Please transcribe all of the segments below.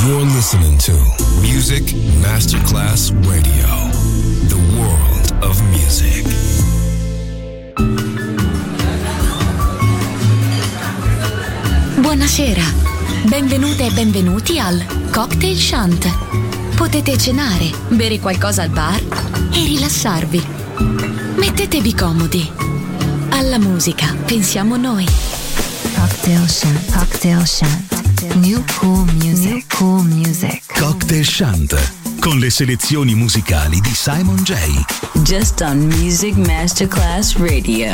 You're listening to Music Masterclass Radio, the world of music. Buonasera, benvenute e benvenuti al Cocktail Shant. Potete cenare, bere qualcosa al bar e rilassarvi. Mettetevi comodi. Alla musica pensiamo noi. Cocktail Shant, Cocktail Shant. New cool music, new cool music. Cocktail Shant, con le selezioni musicali di Simon J. Just on Music Masterclass Radio.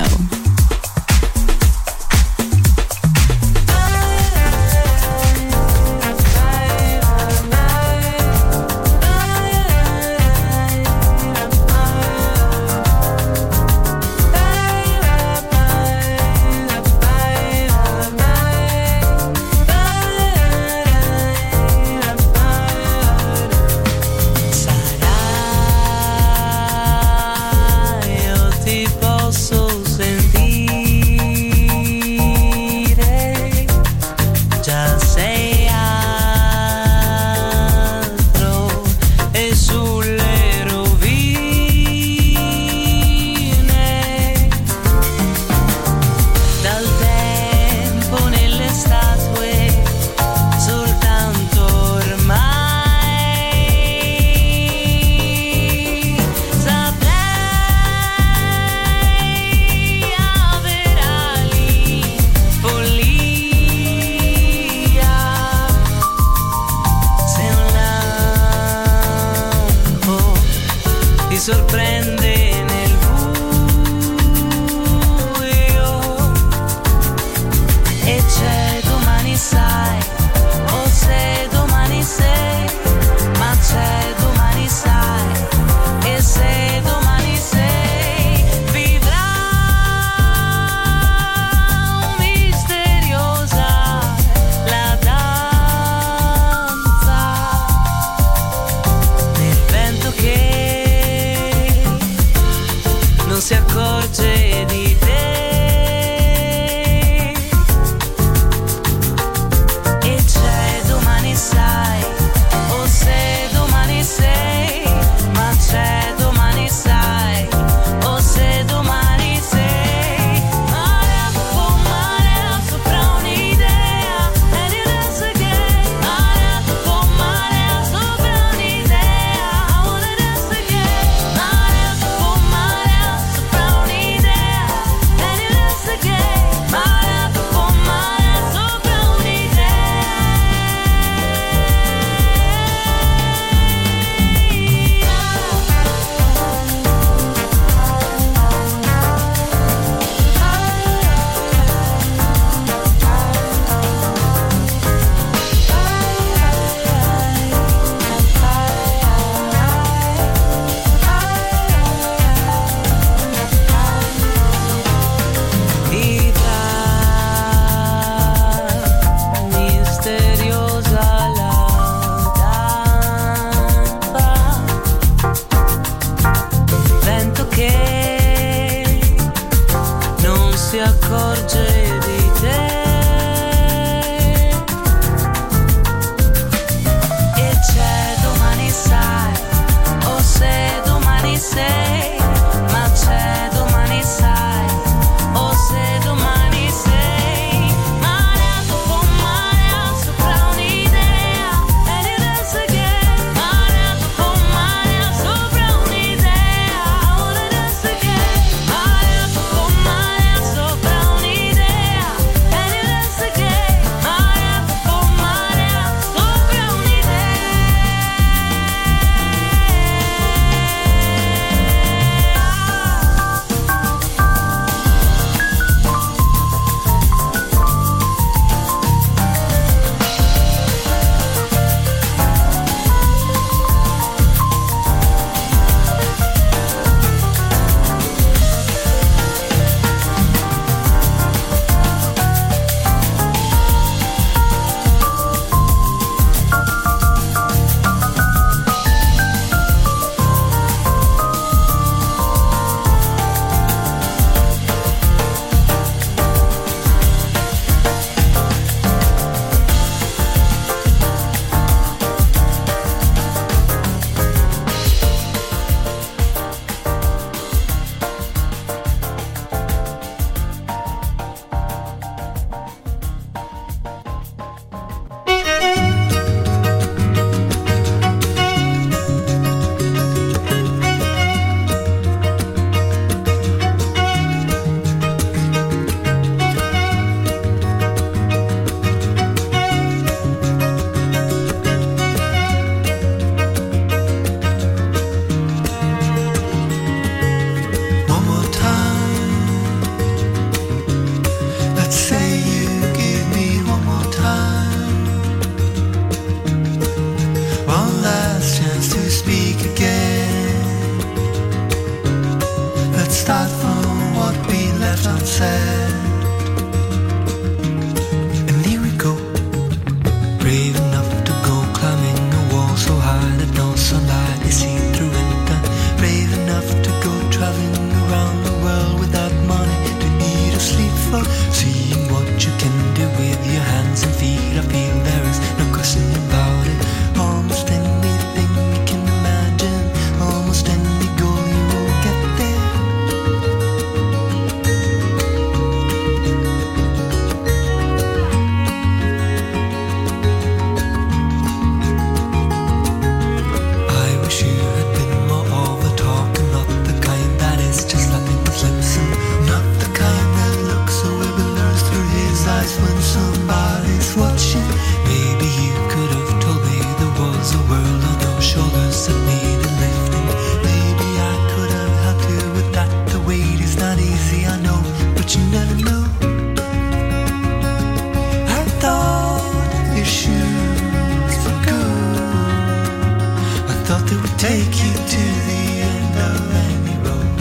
take you to the end of any road.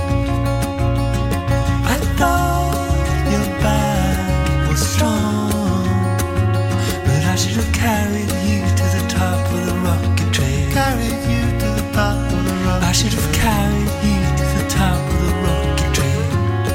I thought your back was strong, but I should have carried you to the top of the rocket train. Carried you to the top of the rocket. I should have carried you to the top of the rocket train.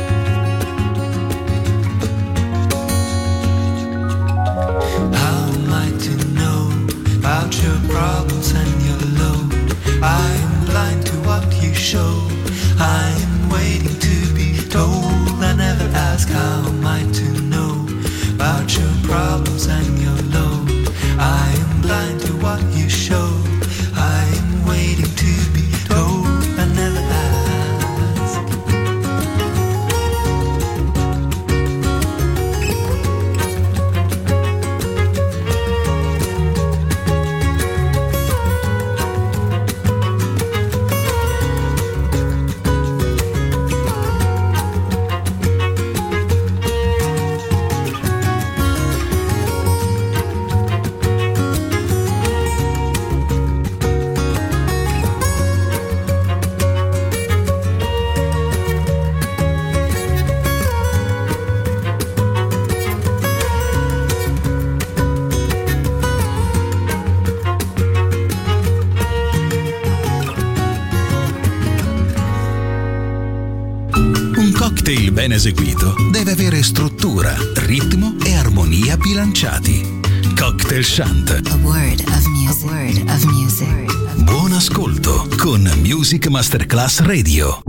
How am I to know about your problems and your load? I'm blind to what you show. I'm waiting to be told. I never ask how am I to know about your problems and your load. I am blind to what you show. I'm waiting to be told. I never ask. cocktail ben eseguito deve avere struttura, ritmo e armonia bilanciati. Cocktail Shant. A word of music. A word of music. Buon ascolto con Music Masterclass Radio.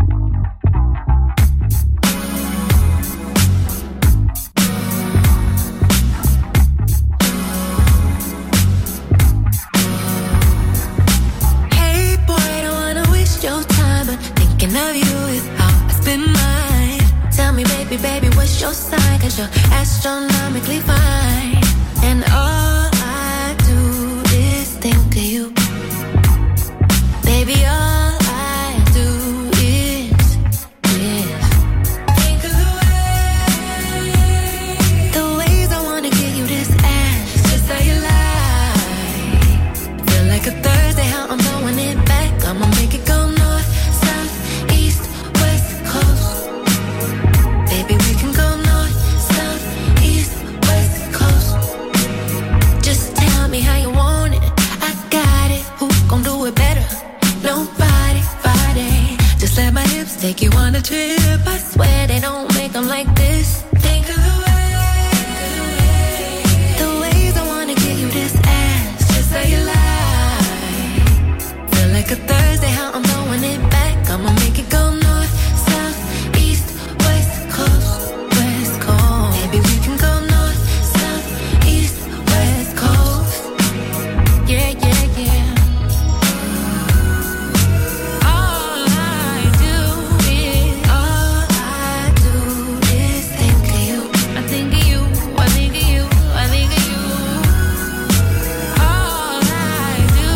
Baby, what's your sign? 'Cause you're astronomically fine. And all I do is think of you. Baby, all I do is think of the ways I wanna give you this ass. Just how you lie. Feel like a Thursday, how I'm throwing it back. I'ma make it go north, south, east, west coast. Baby, we can go north, south, east, west coast. Just tell me how you want it. I got it. Who gon' do it better? Nobody, Friday. Just let my hips take you on a trip. I swear they don't make them like this. Think of the ways I wanna give you this ass. Just how you lie. Feel like a Thursday, how I'm throwing it back. I'ma make it go north, south, east, west coast, west coast. Maybe we can go north, south, east, west coast. Yeah, yeah, yeah. All I do is think of you. I think of you, I think of you, I think of you. All I do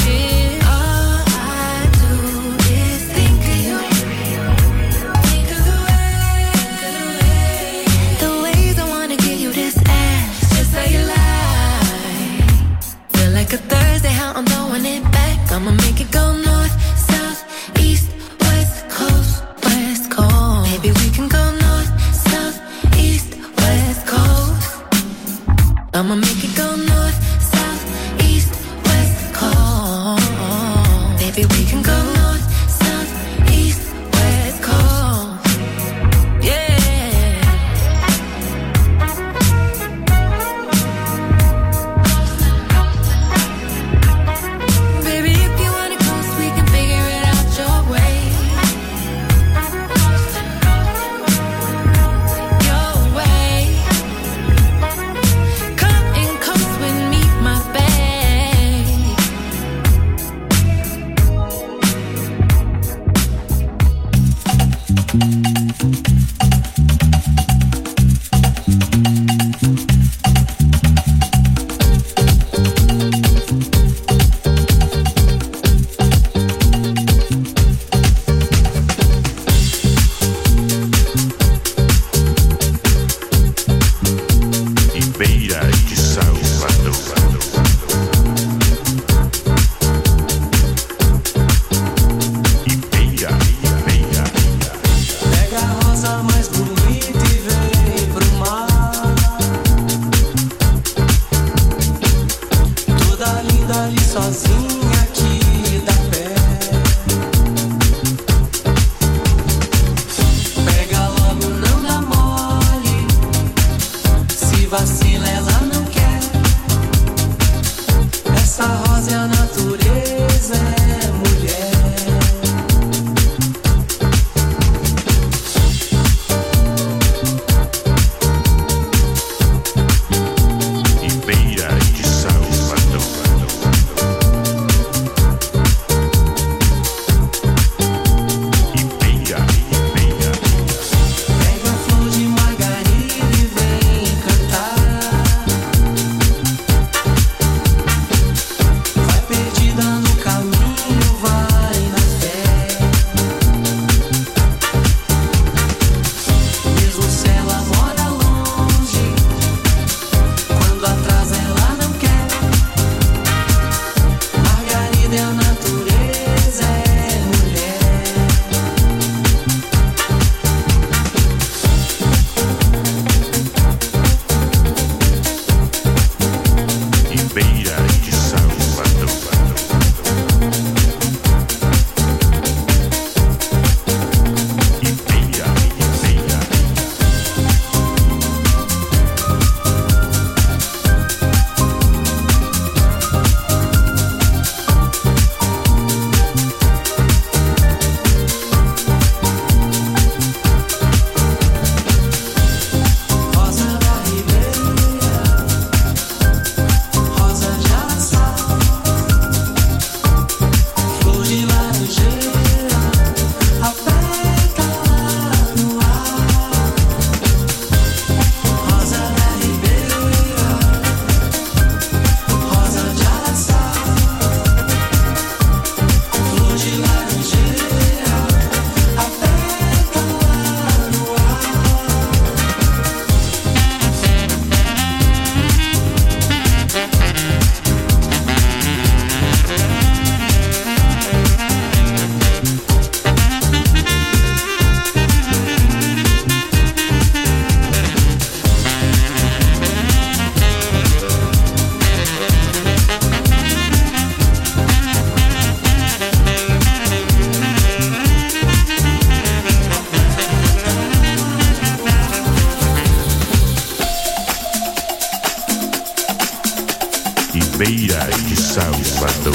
is think of you. Think of the ways I wanna give you this ass. Just how you lie. Feel like a Thursday, how I'm throwing it back. I'ma make it go north, south, east, west coast, west coast. Maybe we can go north, south, east, west coast. I'ma make it go north, south, east, west coast. Maybe we can go north, south, east, west coast. Yeah. Baby, if you wanna sozinha aqui da pé. Pega logo, não dá mole. Se vacila, ela não quer. Essa rosa é a natureza, é mulher. Beira de Salvador.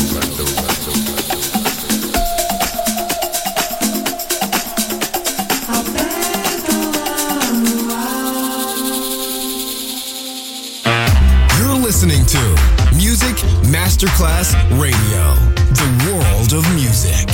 You're listening to Music Masterclass Radio, the world of music.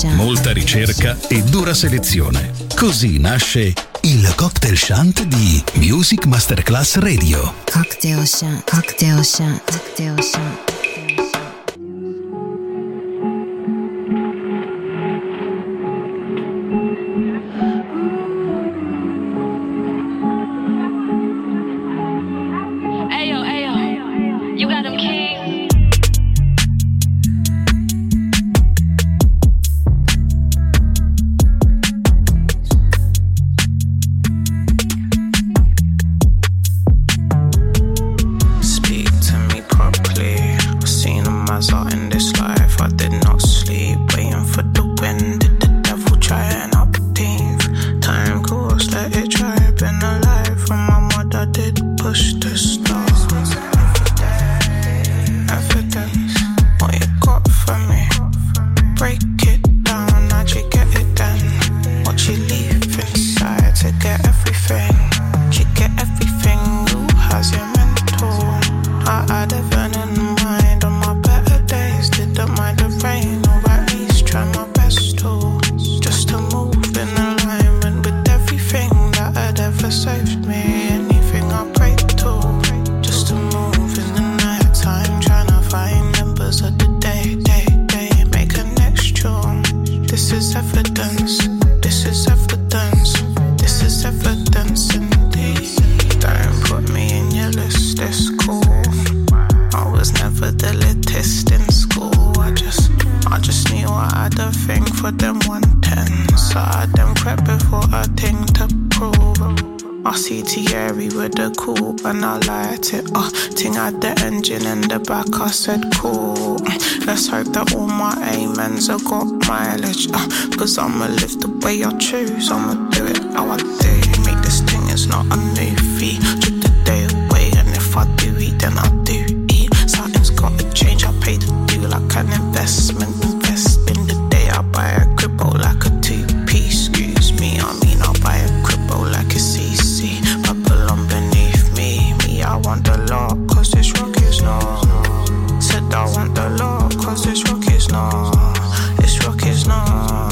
molta ricerca e dura selezione. Così nasce il Cocktail Shant di Music Masterclass Radio. Cocktail Shant, Cocktail Shant, Cocktail Shant. I said cool, let's hope that all my amens have got mileage, cause I'ma live the way I choose, I'ma do it how I do, make this thing, it's not a movie, took the day away, and if I do eat, then I do eat, something's gotta change, I pay the due like an investment, invest in the day, I buy a cribbo like a two-piece, excuse me, I mean I'll buy a cribbo like it's easy, Babylon beneath me, I want the lot, cause this rock is not. I want the law, cause this rock is not, this rock is not.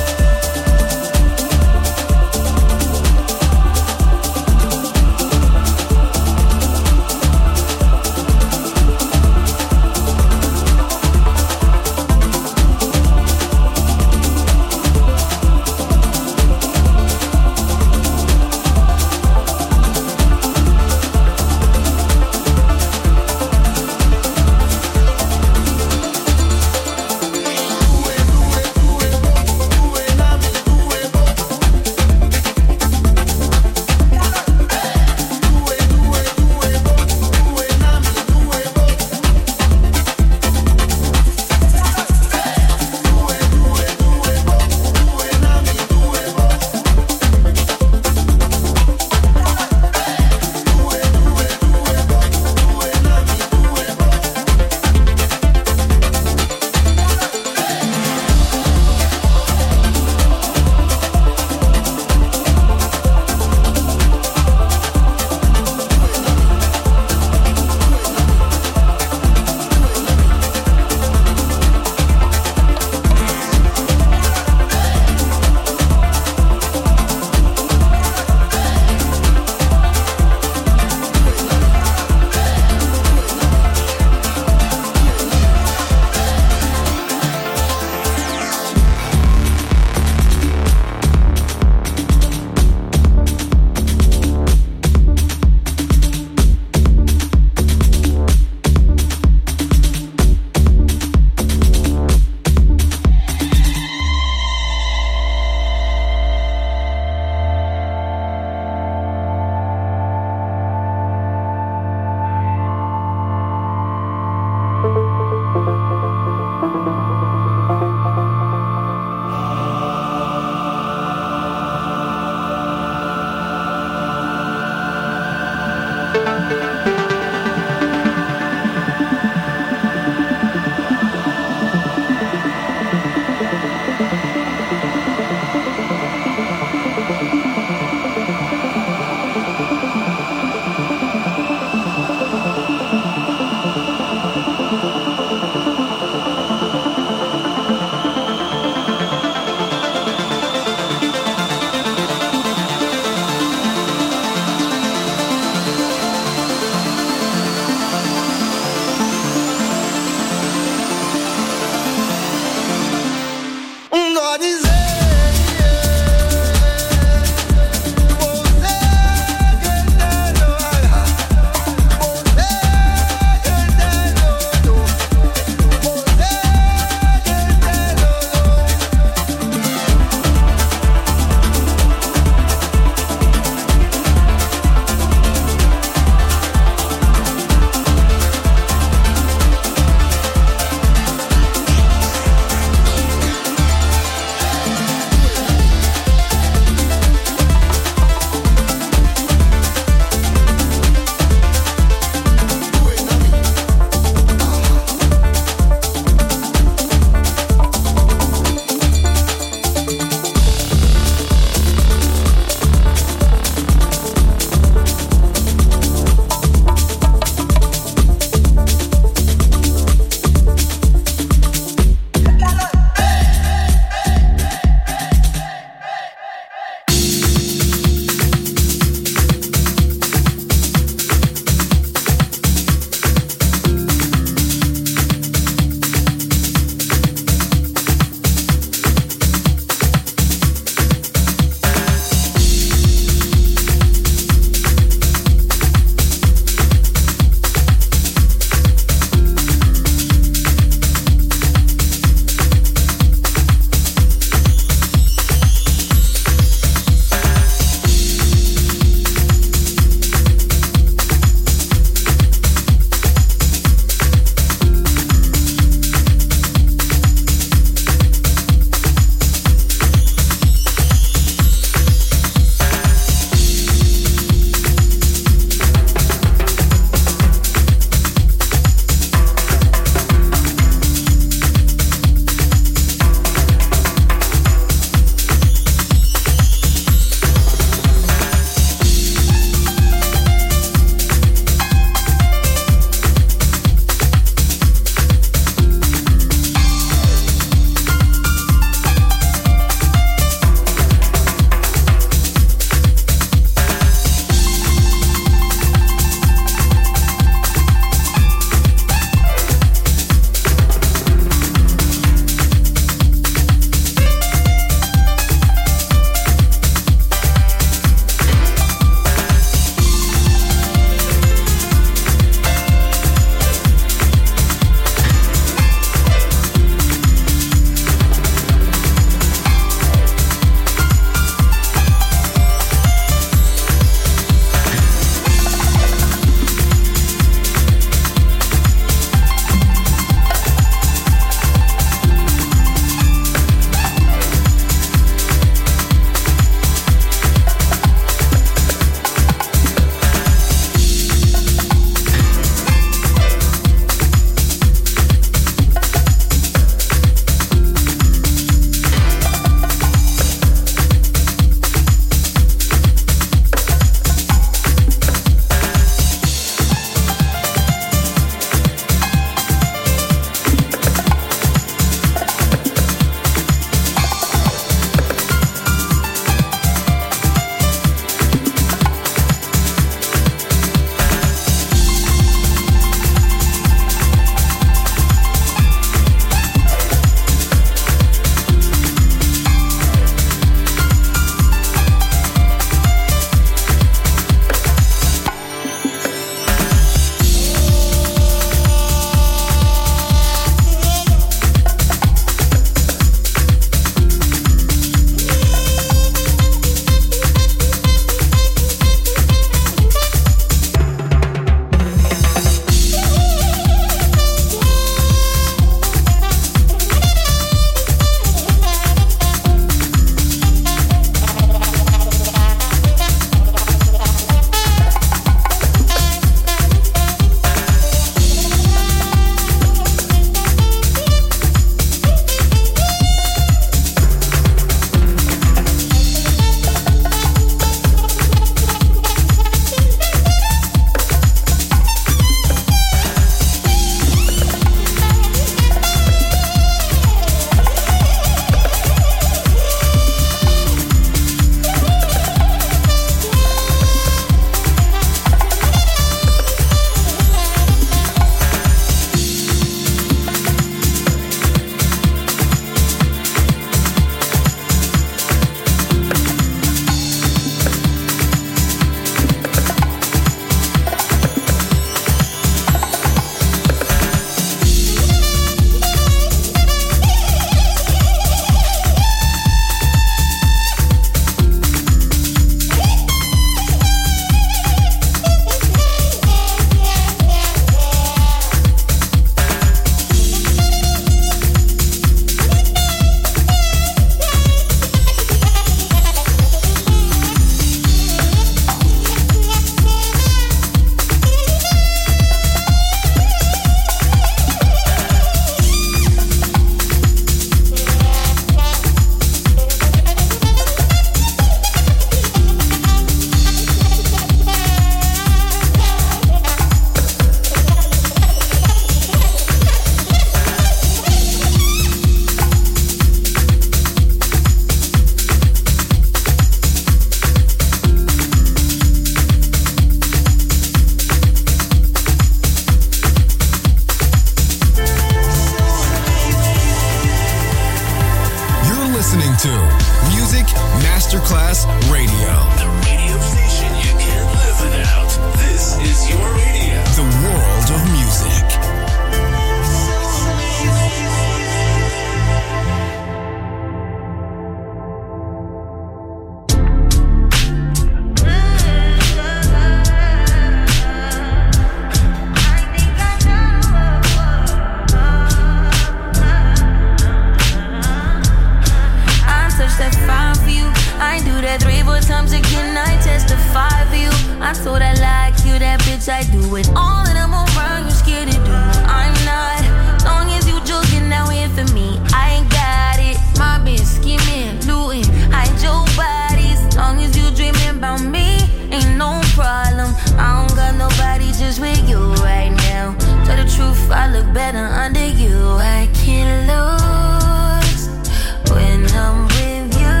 I do it. All of them around you scared to do. I'm not. Long as you joking now here for me, I ain't got it. My bitch scheming, looting, hide your bodies. Long as you dreaming about me, ain't no problem. I don't got nobody just with you right now. Tell the truth, I look better under you. I can't lose when I'm with you.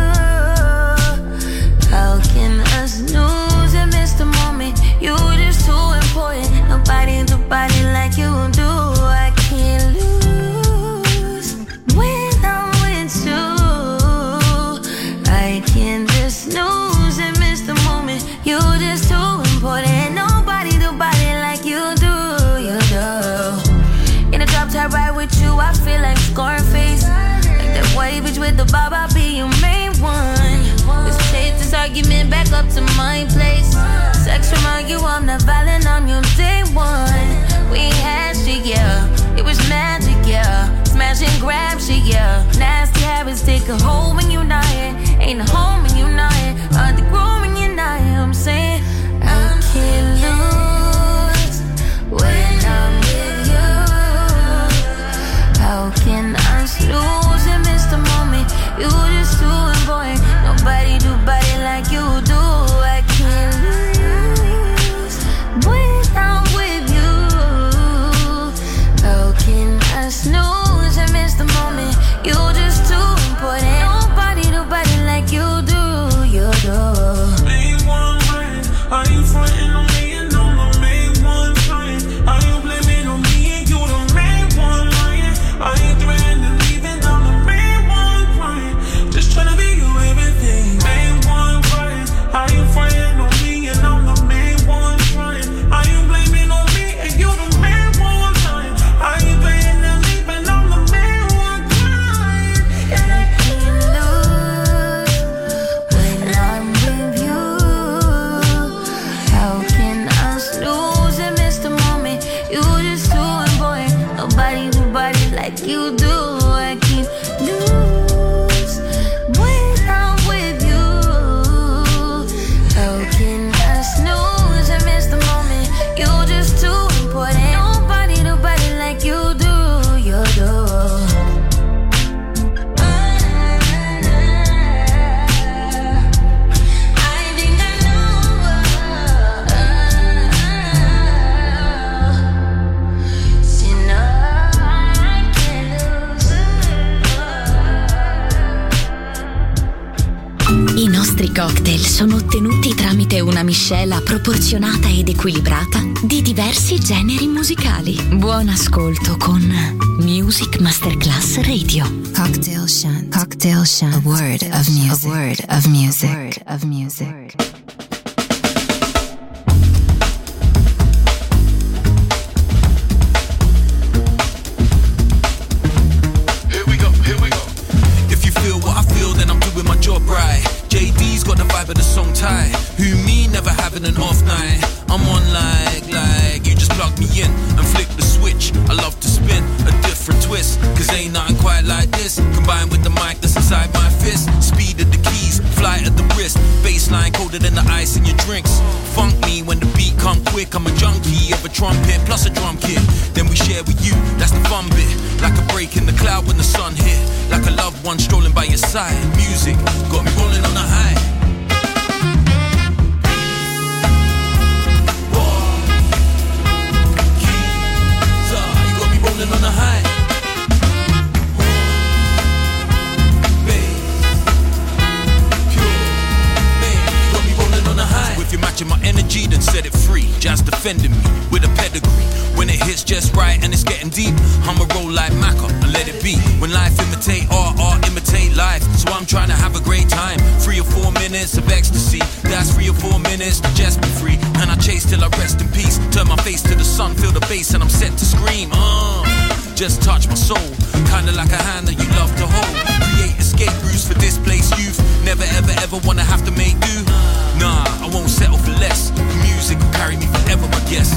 How can us lose and miss the moment? You just too important. Nobody do body like you do. I can't lose when I'm with you. I can't just lose and miss the moment. You just too important. Nobody do body like you do. You do. In a drop top ride with you, I feel like Scarface. Like that white bitch with the bob, I'll be your main one. Let's take this argument back up to my place. Sex remind you I'm not violent, I'm your day one. We had shit, yeah. It was magic, yeah. Smash and grab shit, yeah. Nasty habits take a hold when you're not here. Ain't a home when you're not here. Hard to grow when you're not here. I'm saying I can't lose when I'm with you. How can I lose and miss the moment? You just too important. Nobody do body like you do. I can't lose when I'm with you. How can I snooze and miss the moment? You just too important. Nobody do body like you do. You do. Main one right. Are you frontin' on me and I'm the main one trying? Are you blaming on me and you the main one lying? Are you threatening leaving? I'm the main one crying. Just tryna be you everything. Main one crying. Are you frontin' on me and I'm the main one trying? Are you blaming on me and you the main one lying? Are you threatening leaving? I'm the main one crying. And I can't lose when I'm with you. How can I lose and miss the moment? You just too important. Nobody do body like you do. I can't lose when I'm with you. How can I snooze and miss the moment? You just too important. Nobody do body like you do. You do. I nostri cocktail sono ottenuti tramite una miscela proporzionata ed equilibrata di diversi generi musicali. Buon ascolto con Music Masterclass Radio. Cocktail Shunt. Cocktail Shunt. A word of music. A word of music. A word of music. Here we go. If you feel what I feel, then I'm doing my job right. JD's got the vibe of the song tight. Who me, never having an off night. I'm on like you just plug me in and flick the switch. I love to spin a different twist, cause ain't nothing quite like this. Combined with the mic that's inside my fist. Speed of the keys, flight of the wrist. Bassline colder than the ice in your drinks. Funk me when the beat come quick. I'm a junkie of a trumpet plus a drum kit. Then we share with you, that's the fun bit. Like a break in the cloud when the sun hit. Like a loved one strolling by your side. Music got me rolling on a high. On the high. If you're matching my energy, then set it free. Just defending me with a pedigree. When it hits just right and it's getting deep, I'ma roll like Macca and let it be. When life imitate art, art imitate life. So I'm trying to have a great time. 3 or 4 minutes of ecstasy. That's 3 or 4 minutes to just be free. And I chase till I rest in peace. Turn my face to the sun, feel the bass, and I'm set to scream. Just touch my soul, kinda like a hand that you love to hold. Create escape routes for displaced youth. Never ever ever wanna have to make do. Nah, I won't settle for less. Music will carry me forever, I guess.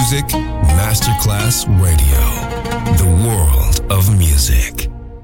Music Masterclass Radio. The world of music.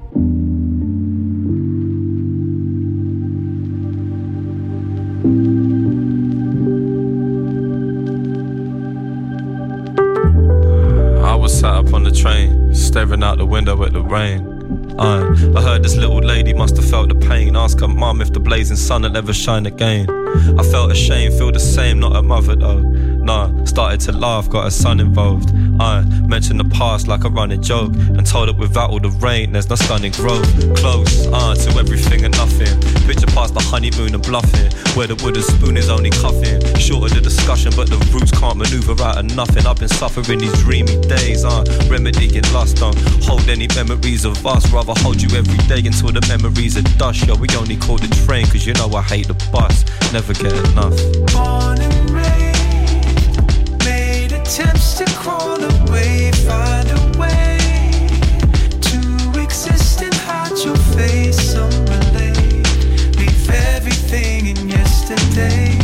I was sat up on the train, staring out the window at the rain. I heard this little lady must have felt the pain. Ask her mum if the blazing sun will ever shine again. I felt ashamed, feel the same, not her mother though. Nah, started to laugh, got her son involved. I mentioned the past like a running joke, and told her without all the rain there's no stunning growth. Close, to everything and nothing. Picture past the honeymoon and bluffing, where the wooden spoon is only cuffing. Short of the discussion, but the roots can't maneuver out of nothing. I've been suffering these dreamy days, remedying lust. Don't hold any memories of us, rather hold you every day until the memories are dust. Yo, we only call the train, cause you know I hate the bus. Never get enough. Born and raised, made attempts to crawl away, find a way to exist and hide your face. Some relate, leave everything in yesterday.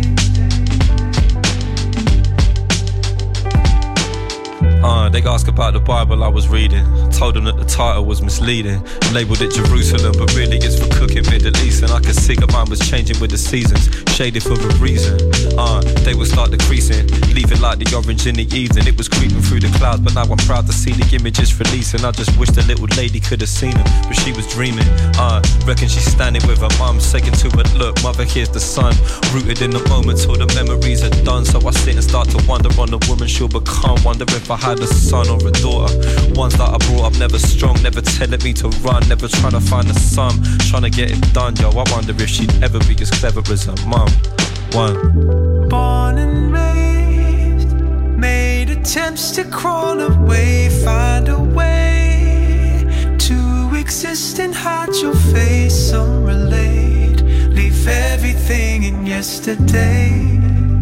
They asked about the Bible I was reading. Told them that the title was misleading. Labelled it Jerusalem, but really it's for cooking Middle East. And I could see that mine was changing with the seasons, shaded for a reason. They would start decreasing, leaving like the orange in the evening. It was creeping through the clouds, but now I'm proud to see the images releasing. I just wish the little lady could have seen them, but she was dreaming. Reckon she's standing with her mum, saying to her, look, mother, here's the sun. Rooted in the moment till the memories are done. So I sit and start to wonder on the woman she'll become. Wonder if I had a son or a daughter. Ones that I brought up never strong, never telling me to run, never trying to find a sum, trying to get it done. Yo, I wonder if she'd ever be as clever as her mum. One. Born and raised, made attempts to crawl away, find a way to exist and hide your face. Some relate, leave everything in yesterday.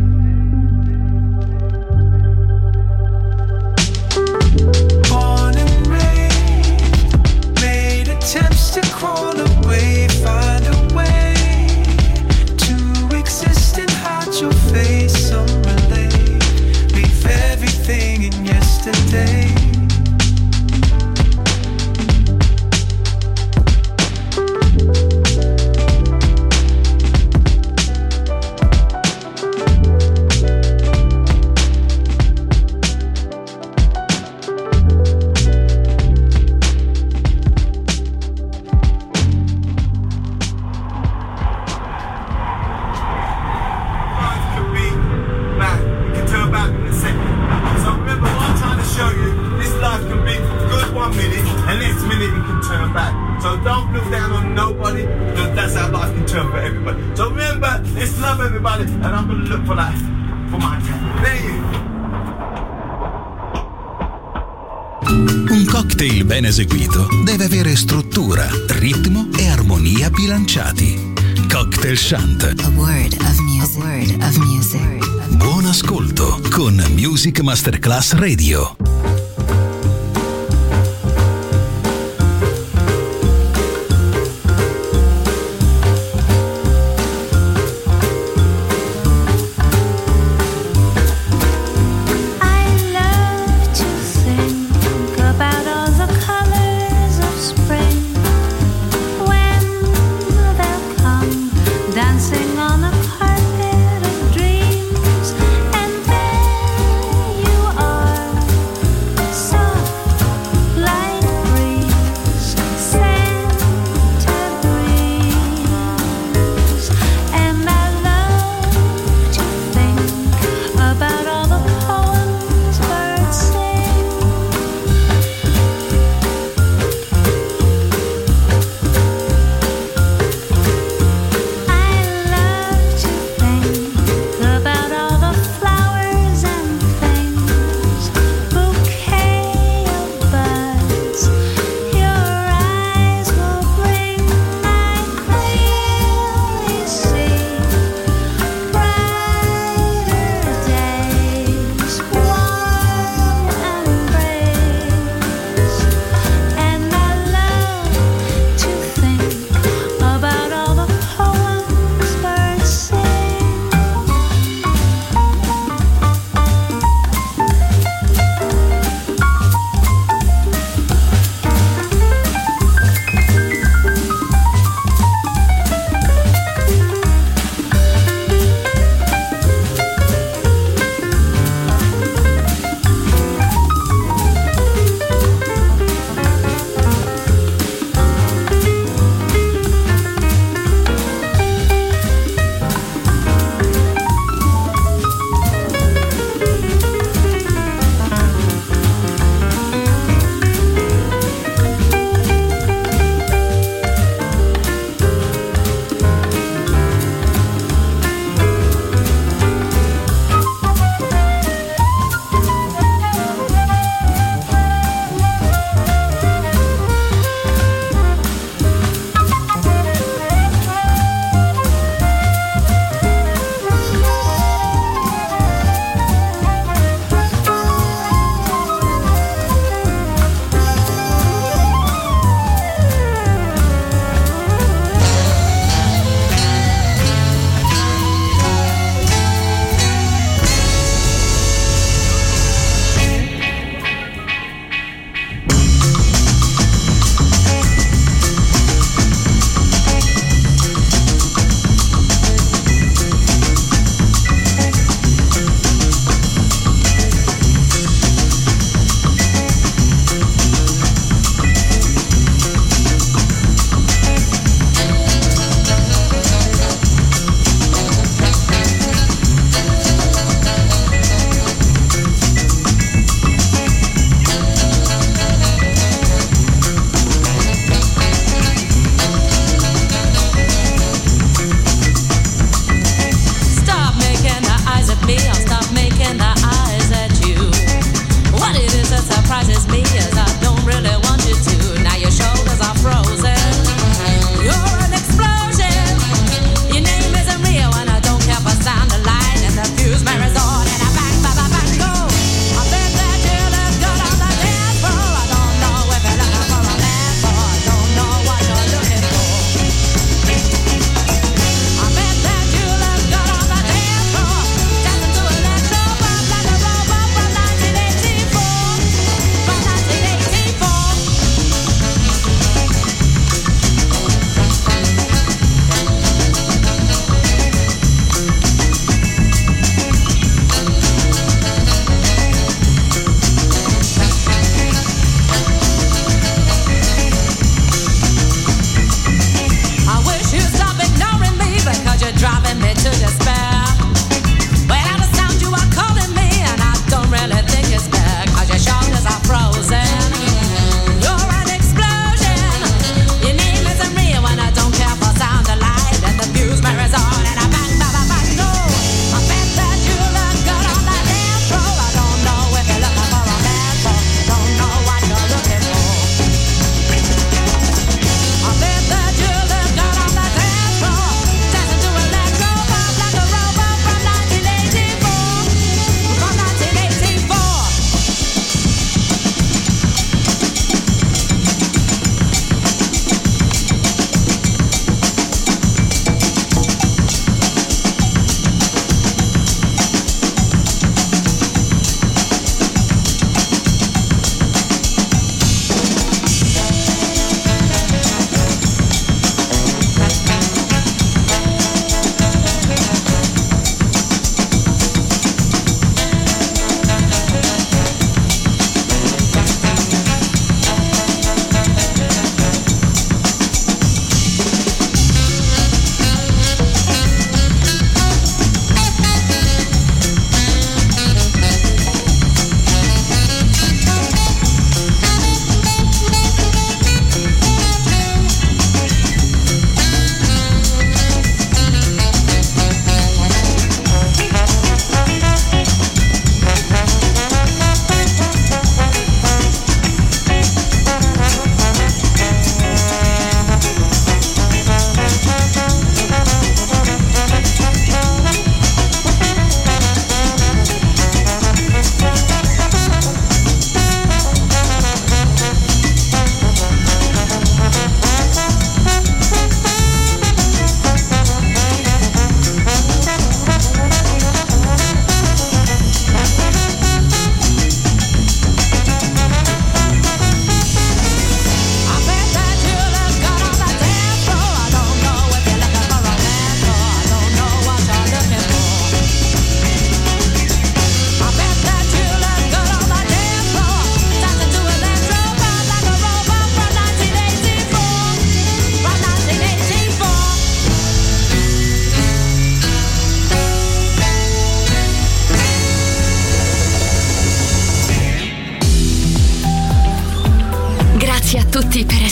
Born and raised, made attempts to crawl away, find a way to exist and hide your face. Some relate, leave everything in yesterday. Un cocktail ben eseguito deve avere struttura, ritmo e armonia bilanciati. Cocktail Shant. A word of music. A word of music. Buon ascolto con Music Masterclass Radio. Dancing on a carpet of dreams, and there you are.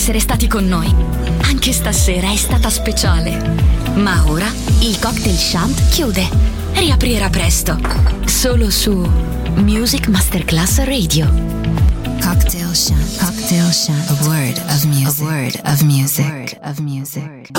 essere stati con noi. Anche stasera è stata speciale. Ma ora il Cocktail Shant chiude. Riaprirà presto. Solo su Music Masterclass Radio. Cocktail Shant. Cocktail Shant. A word of music. A word of music.